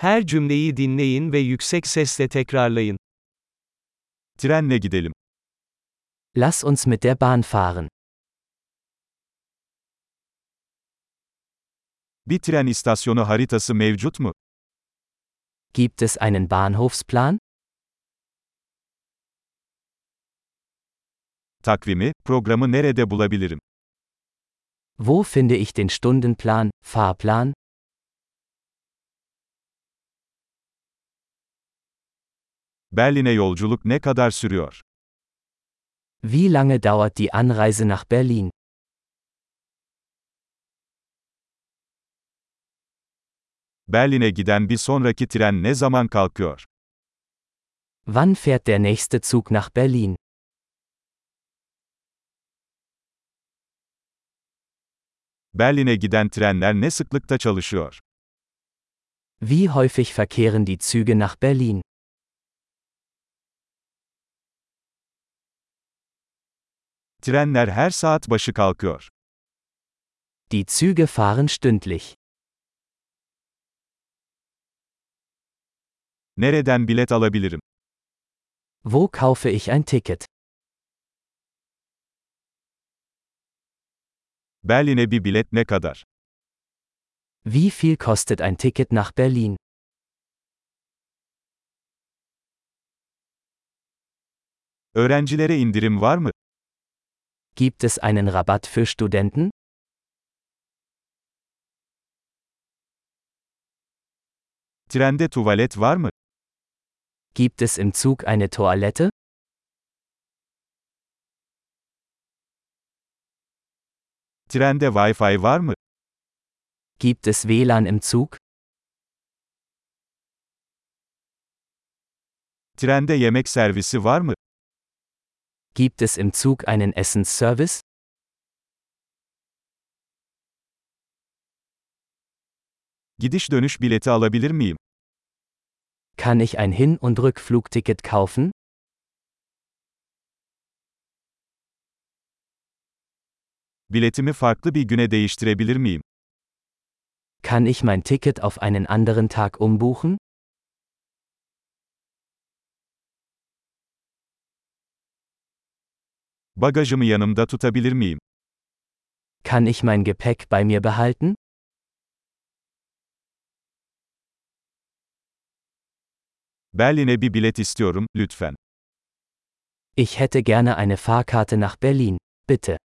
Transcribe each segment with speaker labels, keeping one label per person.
Speaker 1: Her cümleyi dinleyin ve yüksek sesle tekrarlayın.
Speaker 2: Trenle gidelim.
Speaker 3: Lass uns mit der Bahn fahren.
Speaker 2: Bir tren istasyonu haritası mevcut mu?
Speaker 3: Gibt es einen Bahnhofsplan?
Speaker 2: Takvimi, programı nerede bulabilirim?
Speaker 3: Wo finde ich den Stundenplan, Fahrplan?
Speaker 2: Berlin'e yolculuk ne kadar sürüyor?
Speaker 3: Wie lange dauert die Anreise nach Berlin?
Speaker 2: Berlin'e giden bir sonraki tren ne zaman kalkıyor?
Speaker 3: Wann fährt der nächste Zug nach Berlin?
Speaker 2: Berlin'e giden trenler ne sıklıkta çalışıyor?
Speaker 3: Wie häufig verkehren die Züge nach Berlin?
Speaker 2: Trenler her saat başı kalkıyor.
Speaker 3: Die Züge fahren stündlich.
Speaker 2: Nereden bilet alabilirim?
Speaker 3: Wo kaufe ich ein Ticket?
Speaker 2: Berlin'e bir bilet ne kadar?
Speaker 3: Wie viel kostet ein Ticket nach Berlin?
Speaker 2: Öğrencilere indirim var mı?
Speaker 3: Gibt es einen Rabatt für Studenten?
Speaker 2: Trende tuvalet var mı?
Speaker 3: Gibt es im Zug eine Toilette?
Speaker 2: Trende Wi-Fi var mı?
Speaker 3: Gibt es WLAN im Zug?
Speaker 2: Trende yemek servisi var mı?
Speaker 3: Gibt es im Zug einen Essensservice?
Speaker 2: Gidiş dönüş bileti alabilir miyim?
Speaker 3: Kann ich ein Hin- und Rückflugticket kaufen?
Speaker 2: Biletimi farklı bir güne değiştirebilir miyim?
Speaker 3: Kann ich mein Ticket auf einen anderen Tag umbuchen?
Speaker 2: Bagajımı yanımda tutabilir miyim?
Speaker 3: Kann ich mein Gepäck bei mir behalten?
Speaker 2: Berlin'e bir bilet istiyorum, lütfen.
Speaker 3: Ich hätte gerne eine Fahrkarte nach Berlin, bitte.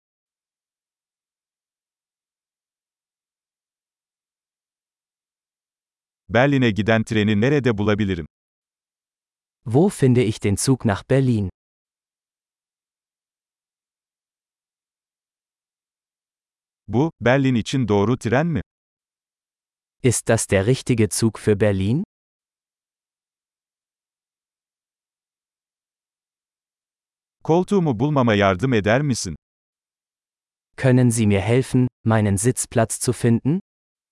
Speaker 2: Berlin'e giden treni nerede bulabilirim?
Speaker 3: Wo finde ich den Zug nach Berlin?
Speaker 2: Bu, Berlin için doğru tren mi?
Speaker 3: Ist das der richtige Zug für Berlin?
Speaker 2: Koltuğumu bulmama yardım eder misin?
Speaker 3: Können Sie mir helfen, meinen Sitzplatz zu finden?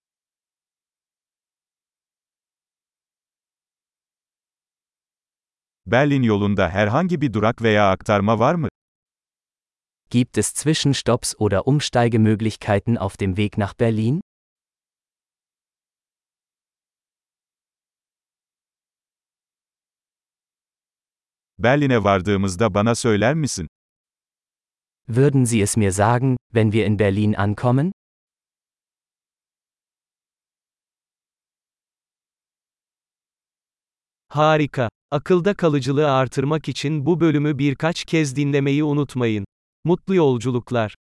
Speaker 2: Berlin yolunda herhangi bir durak veya aktarma var mı?
Speaker 3: Gibt es Zwischenstopps oder Umsteigemöglichkeiten auf dem Weg nach Berlin?
Speaker 2: Berlin'e vardığımızda bana söyler misin?
Speaker 3: Würden Sie es mir sagen, wenn wir in Berlin ankommen?
Speaker 1: Harika. Akılda kalıcılığı artırmak için bu bölümü birkaç kez dinlemeyi unutmayın. Mutlu yolculuklar.